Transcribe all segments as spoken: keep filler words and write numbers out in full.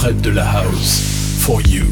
près de la house. For you.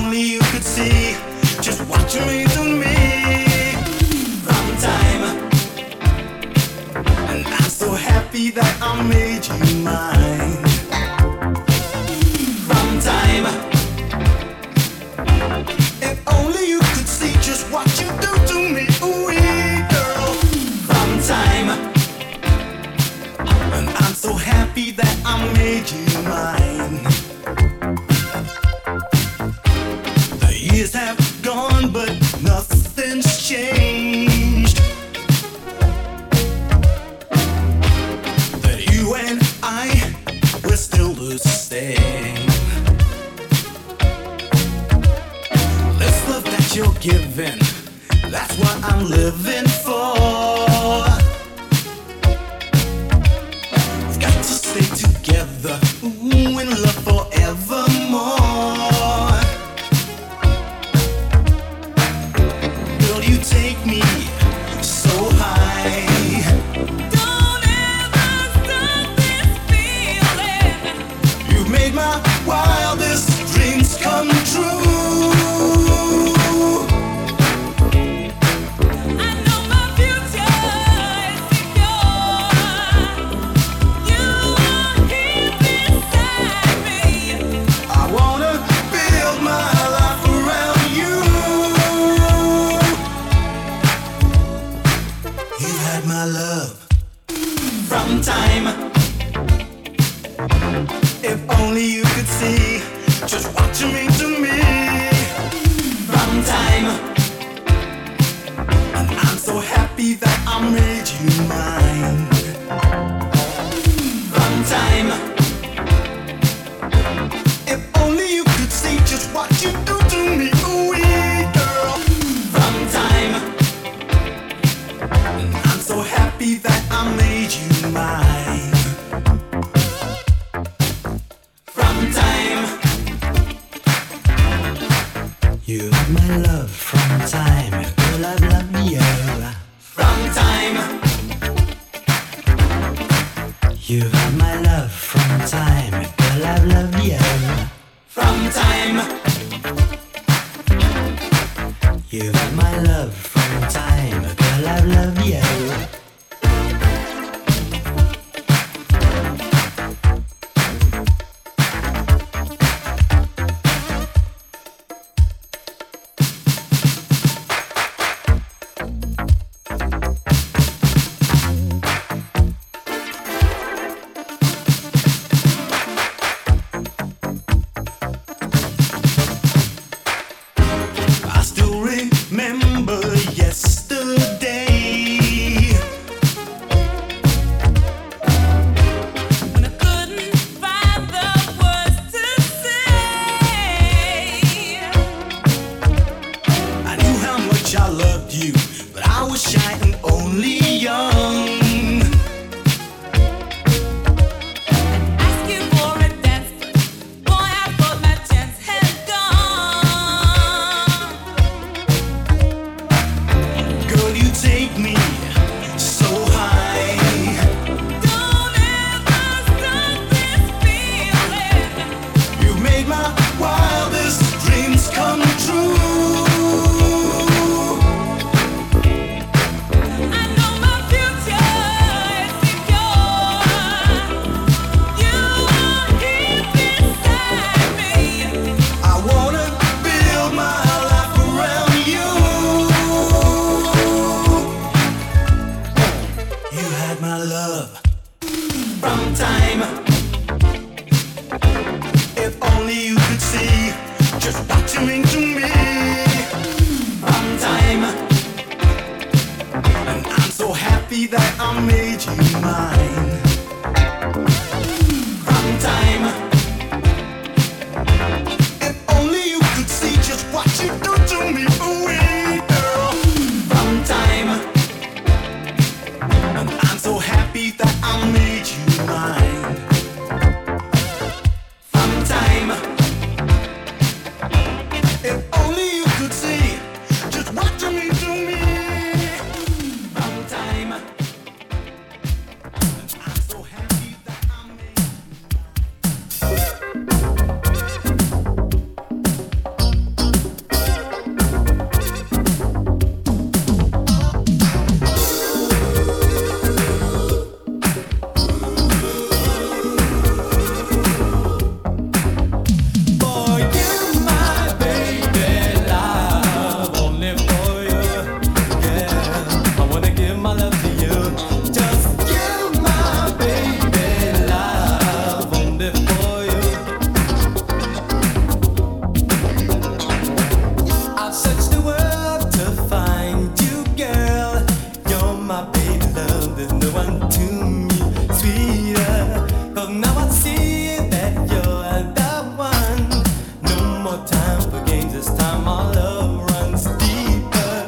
only you could see just what you mean to me from time. And I'm so happy that I made you mine from time. If only you could see just what you do to me, ooh, girl, from time. And I'm so happy that I made you mine. The years have gone, but nothing's changed. That you and I, we're still the same. This love that you're giving, that's what I'm living for. We've got to stay together, ooh, in love forevermore. Girl, you take me so high. Don't ever stop this feeling. You made my wildest dreams come true. I know my future is secure. You are here beside me. I wanna build my life around you. You had my love from time. If only you could see just what you mean to me from time. And I'm so happy that I made you mine from time. If only you could see just what you do to me, ooh, girl, from time. And I'm so happy that I made you mine from time. You are my love from time. Girl, I love you from time. You are my love from time. Girl, I love you from time. You are my love from time. Girl, I love you. I still remember yesterday When I couldn't find the words to say. I knew how much I loved you, but I was shy and only young. Ask you for a dance, boy, I thought my chance had gone. Girl, you take me so high. Don't ever stop this feeling. You made my wildest dreams come true. I know my future is secure. You are here beside me. I wanna build my life around you. You had my love from time. If only you could see just what you mean to me from time. And I'm so happy that I made you mine from time. If only you could see just what you do to me, ooh, girl, from time. And I'm so happy that I made you mine from time. If only you could see just what you mean to me from time. time for games. This time our love runs deeper.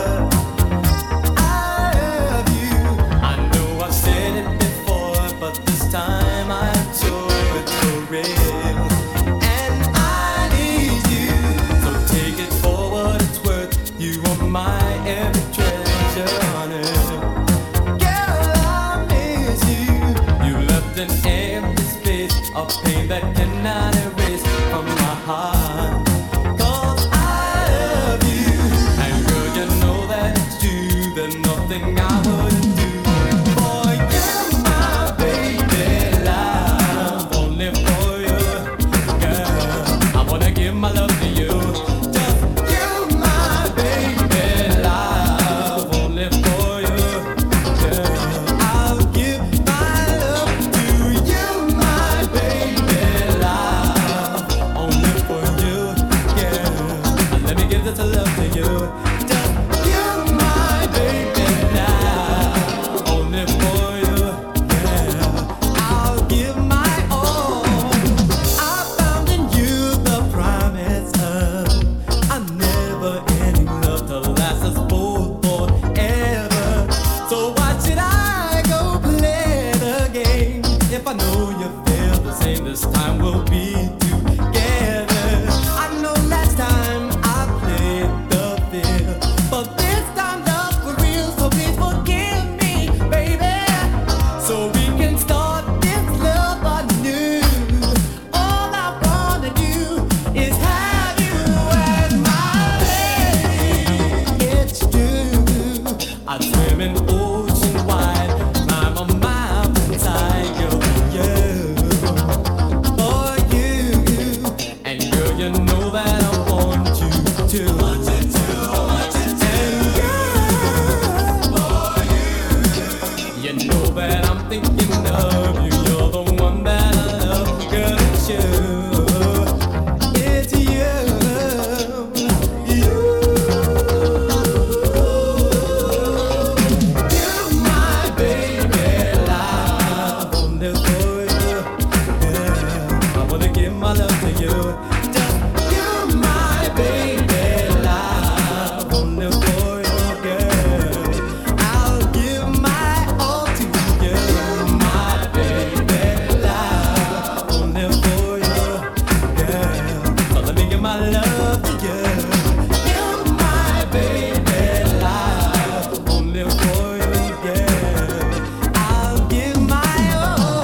I love you. I know I've said it before, but this time I'm sure it's for real. And I need you, so take it for what it's worth. You are my every treasure on earth. Girl, I miss you. You left an empty space of pain that cannot erase from my heart. 'Cause I love you, and girl, you know that it's true. There's nothing I wouldn't do for you, my baby. Love only for you, girl. I wanna give my love to you. Just you, my baby. Love only for you, girl. I'll give my love to you, my baby. Love only for you, girl. Let me give this love to you. Just you, my baby. Love only for you, girl. I'll give my all. I found in you the promise of a never-ending love to last us both forever. So why should I go play the game if I know you feel the same? This time we'll be together. I know last time I played the field, but this time love for real. So please forgive me, baby, so we can start this love anew. All I wanna do is have you as my lady. It's true. I swim in ocean wide, climb a mountain side, girl, for you, for you. And girl, you know that I want you to. Want you to, want you to. And girl, for you, you know that I'm thinking of you. You're the one that I love, girl, it's you. It's you, you. You, my baby, love only for you, girl. I wanna give my love to you. Just you, my baby, love only for you, girl. I'll give my all to you, my baby, love only for you, girl. So let me give my love to you. You, my baby, love only for you, girl. I'll give my all.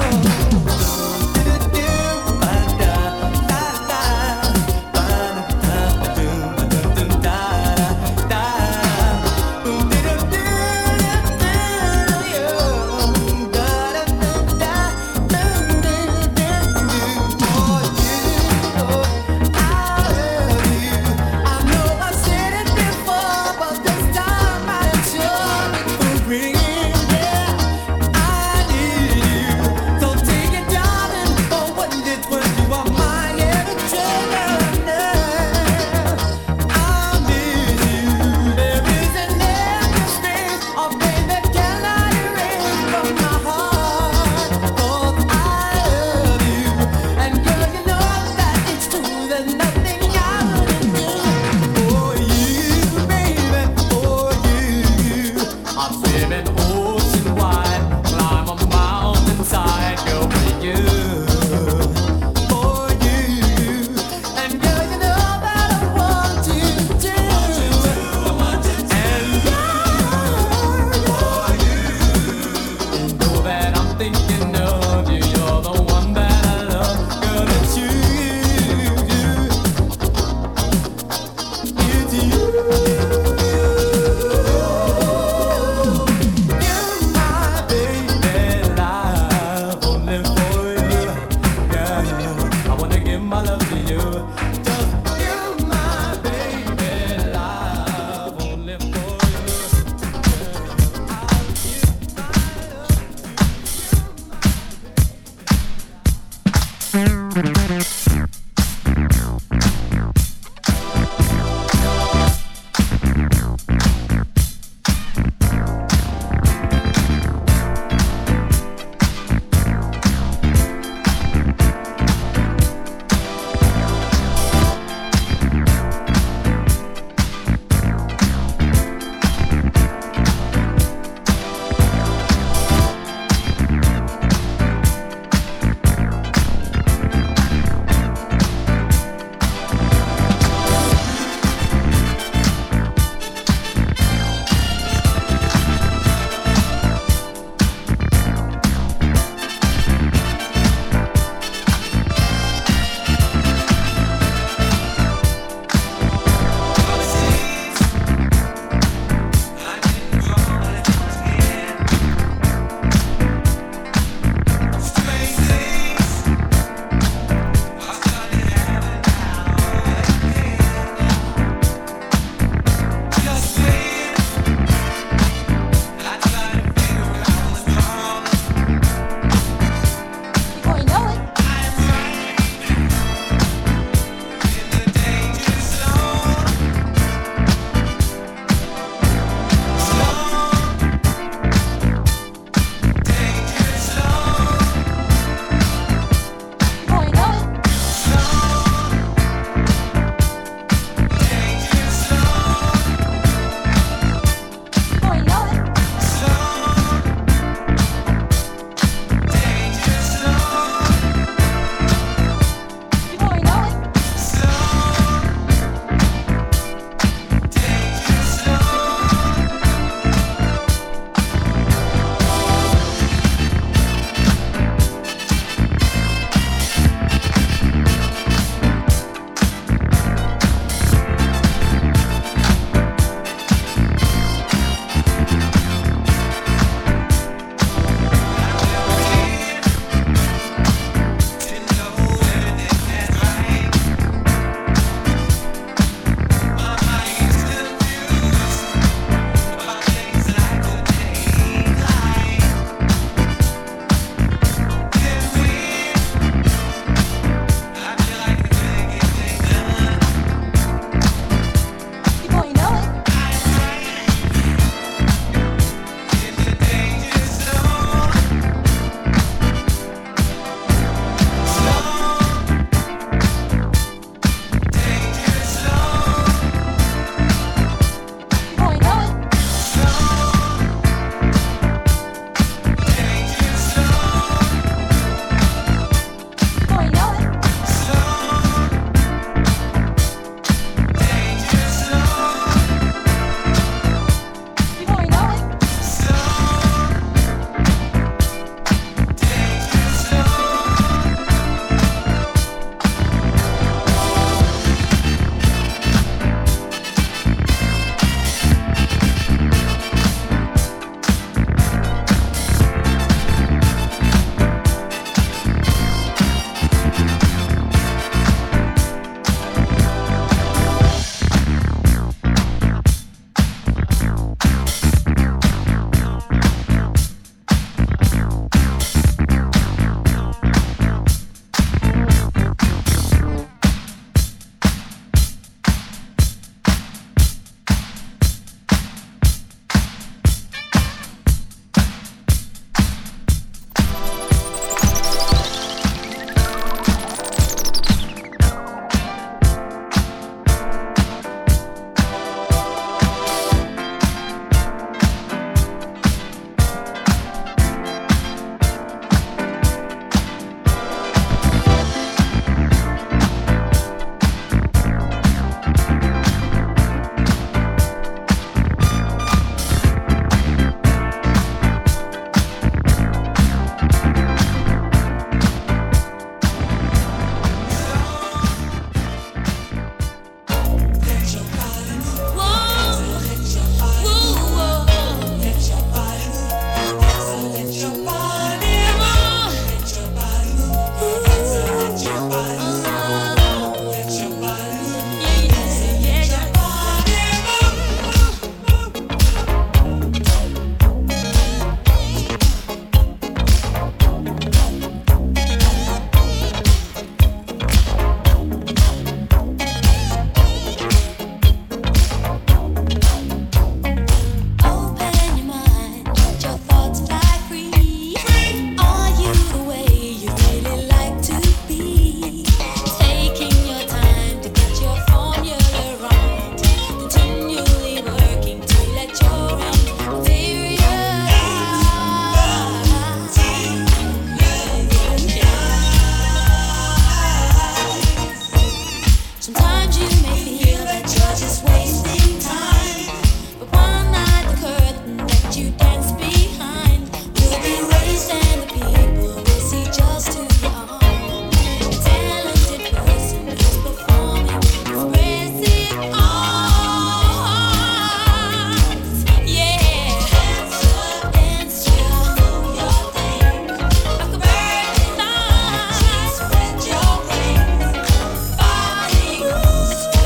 Sometimes you may feel that you're just wasting time, but one night the curtain that you dance behind will be raised and the people will see just who you are. A talented person who's performing expressive arts. Yeah, dance your your thing like a bird in the night. Spread your wings. Body moves.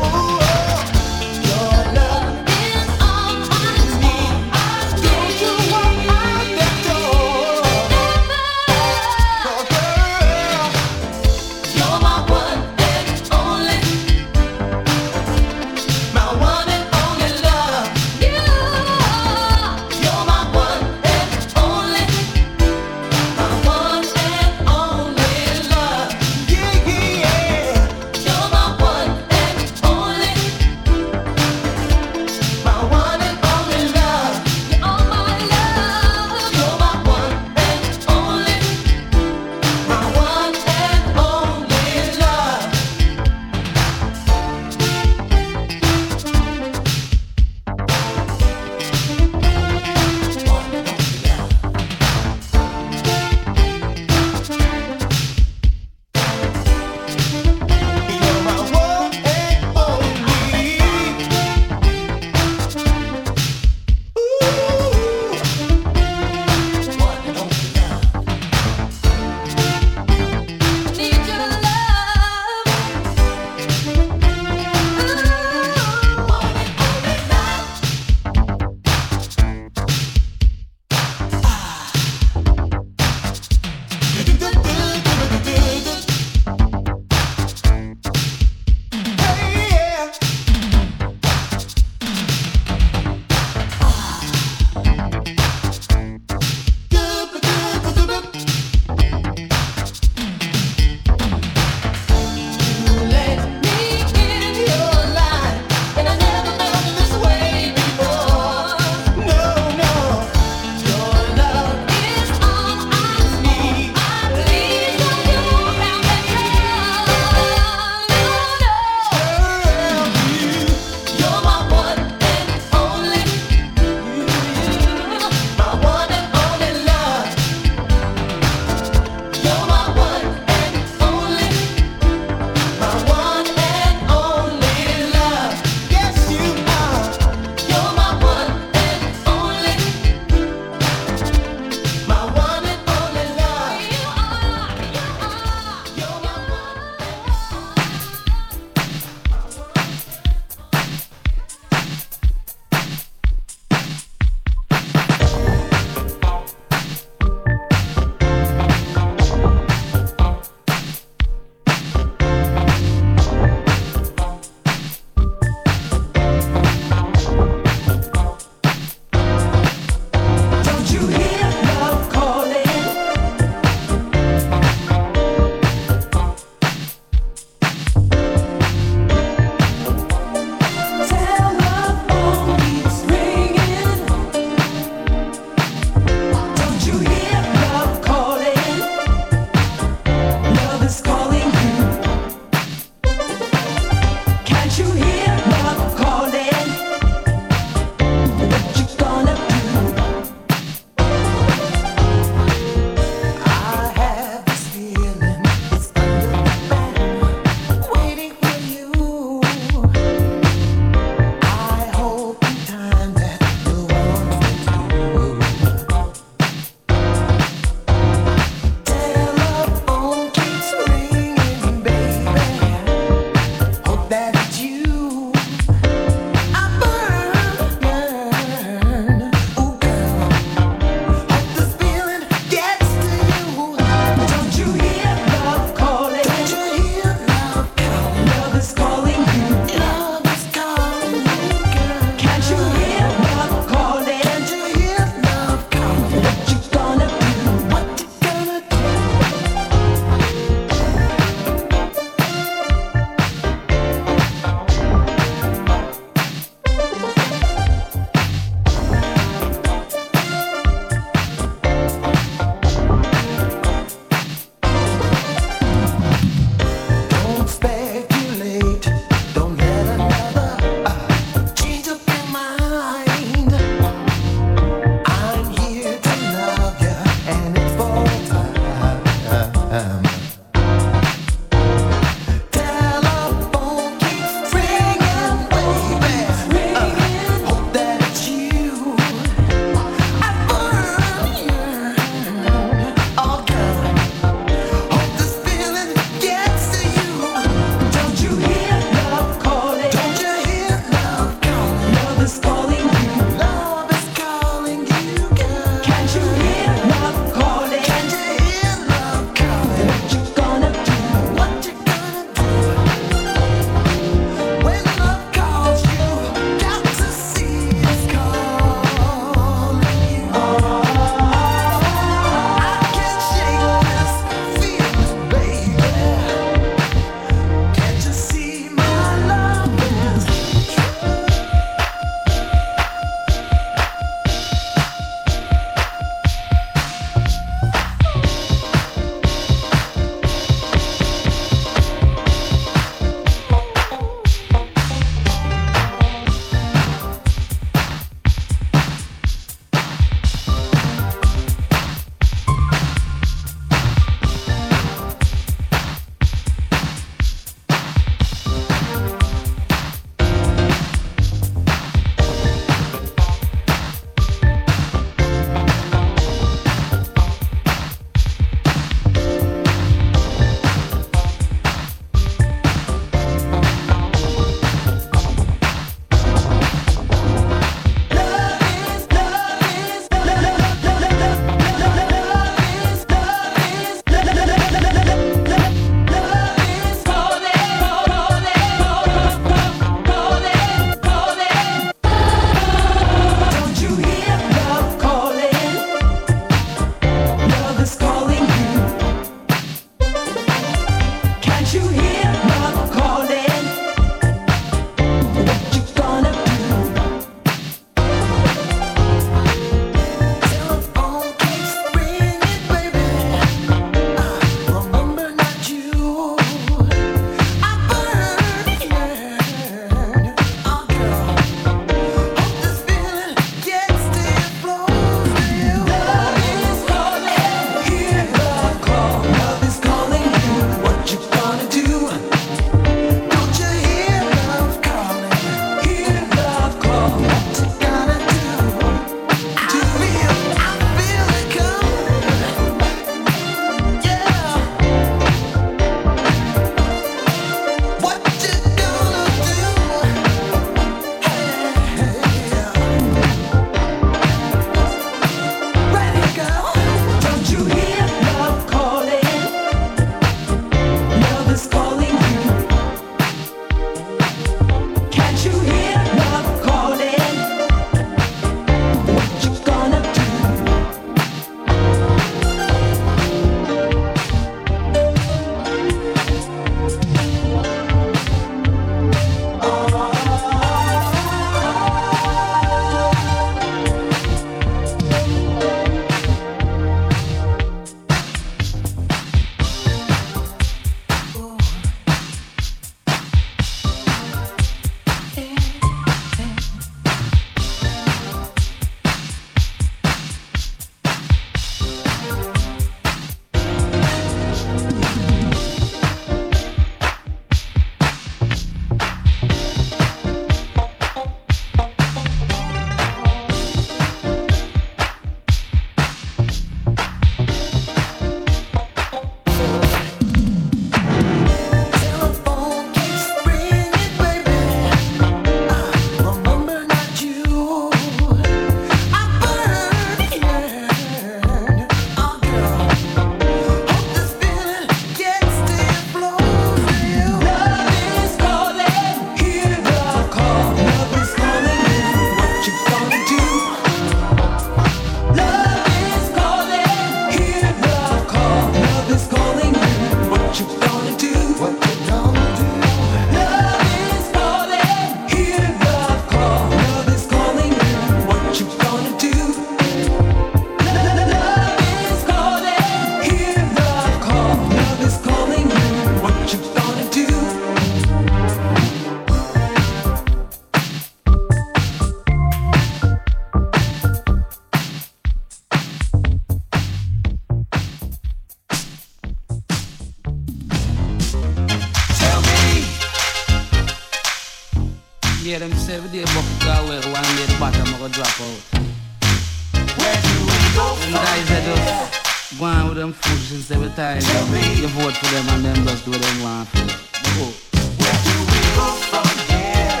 hear them say every day bucket go away, one day the bottom I go drop out. Where do we go Them from guys that here? just go on with them foolishness every time. You vote for them and them just do what they want for them. Go. Where do we go from here?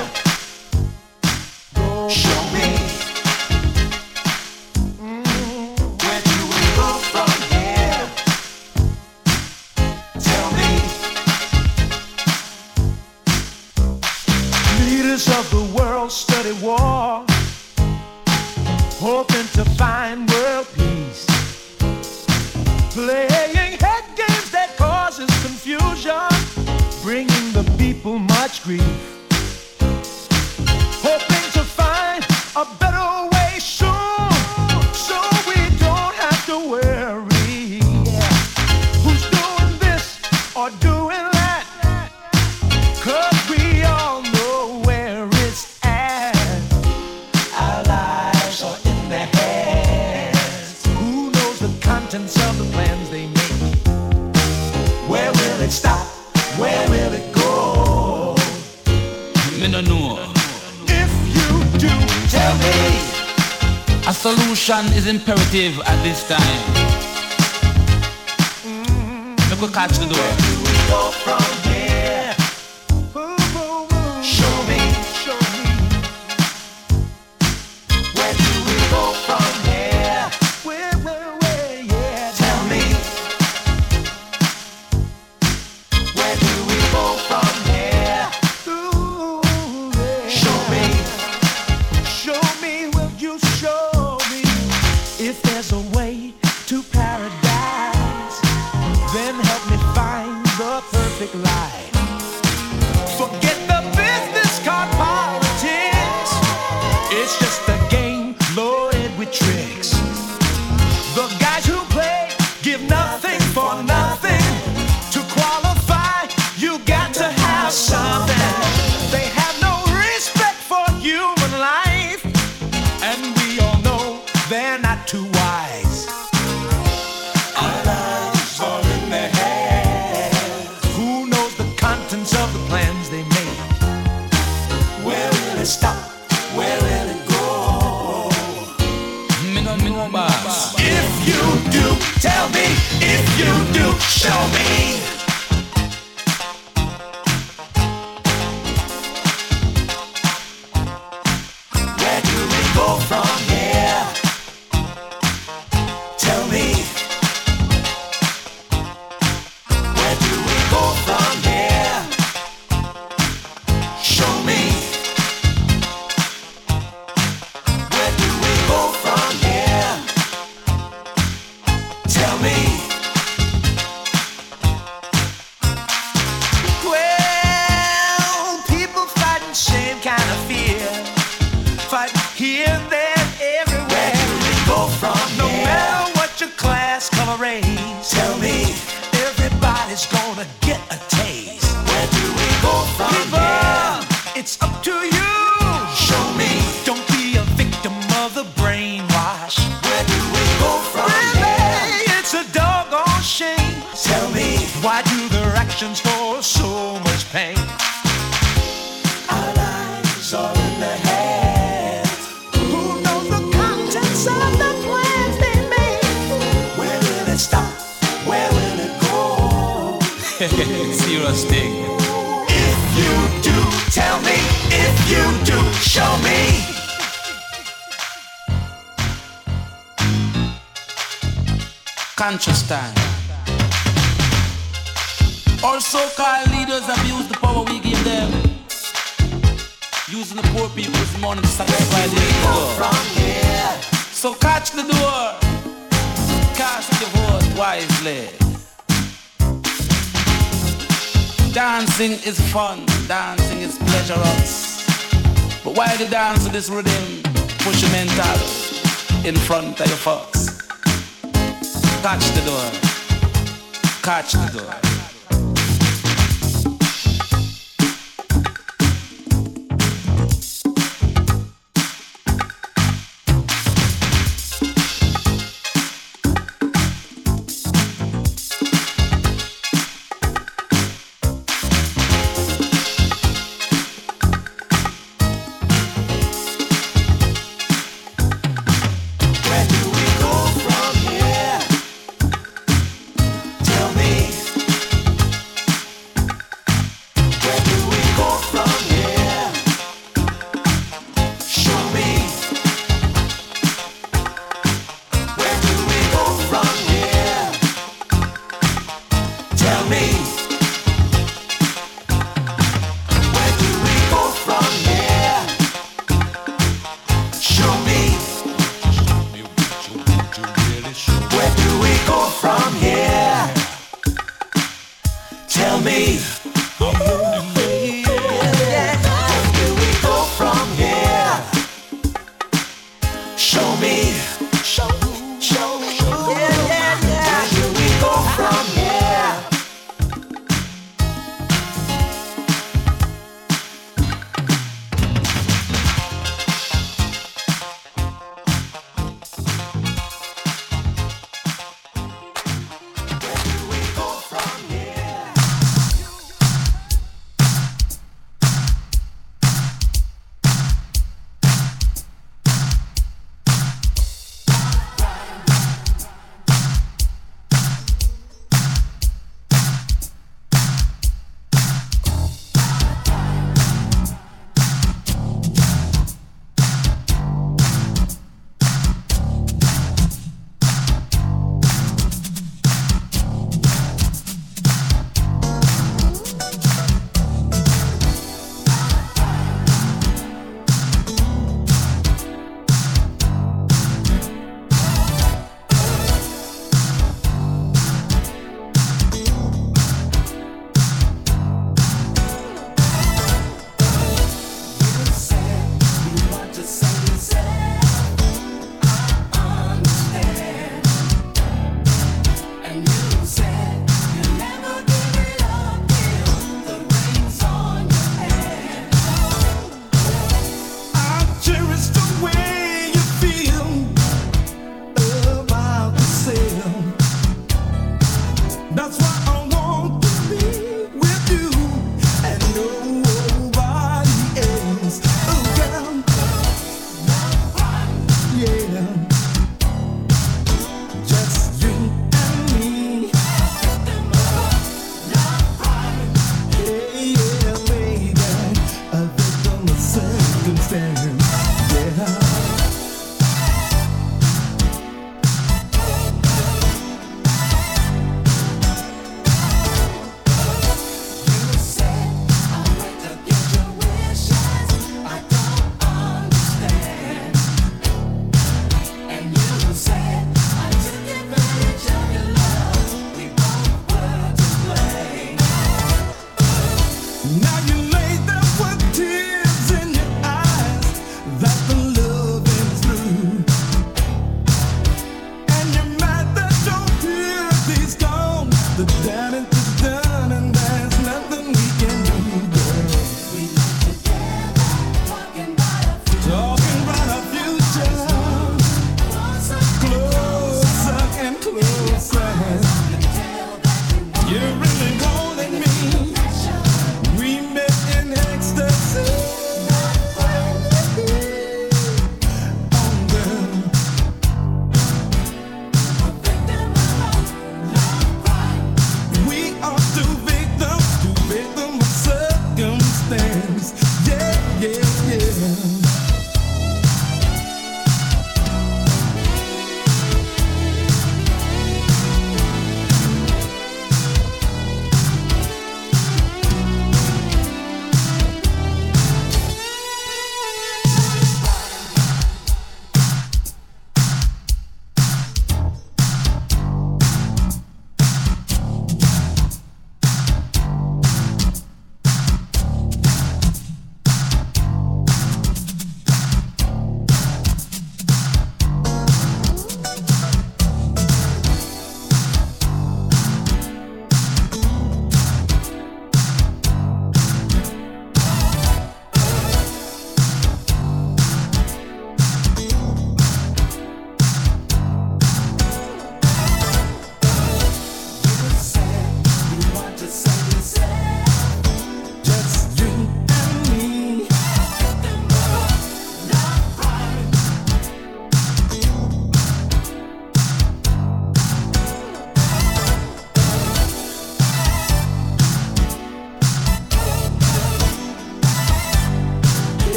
Show me. Mm, where do we go from here? Tell me. Leaders of the world study war, hoping to find world peace, playing head games that causes confusion, bringing the people much grief, hoping to find a better way soon, so we don't have to worry who's doing this or doing that, 'cause we all know where it's at. Our lives are in their hands. Who knows the contents of the plans they make? Where will it stop? Where will it go? Me no know. If you do, tell me. A solution is imperative at this time. Look, we catch the door. Where do we go from here? Show me, show me. Where do we go from here? Where, where, where, yeah. Tell me. Where do we go from here? Ooh, yeah. Show me. Show me, will you show me? If there's a way to paradise, then help me find the perfect life. Forget the business card politics. It's just a game loaded with tricks. The guys who play give nothing for nothing. To qualify, you got to have something. They have no respect for human life, and we all know they're not too wise. Our lives are in their hands. Who knows the contents of the plans they make? Where will it stop? Where will it go? Me no know, boss. If you do, tell me. If you do, show me. Where do we go from here? Tell me. Where do we go from here? Show me. Where do we go from here? Tell me. Well, people fighting same kind of fear, fight here, there, everywhere. Where do we go from no here? Matter what your class, color, race. Tell me. Everybody's gonna get a taste. Where do we go from people, here? It's up to you. Show me. Don't be a victim of the brainwash. Where do we go from really? Here? It's a doggone shame. Tell me. Why do their actions cause so much pain? Our lives are in their hands. Who knows the contents of the plans they made? Where will it stop? Where will it go? Serious thing. If you do, tell me. If you do, show me. Conscious time. Our so-called leaders abuse the power we give them, using the poor people's money to satisfy their ego. From here. So catch the door, cast your vote wisely. Dancing is fun, dancing is pleasurous. But while you dance to this rhythm, push your mental in front of your folks. Catch the door, catch the door. understand.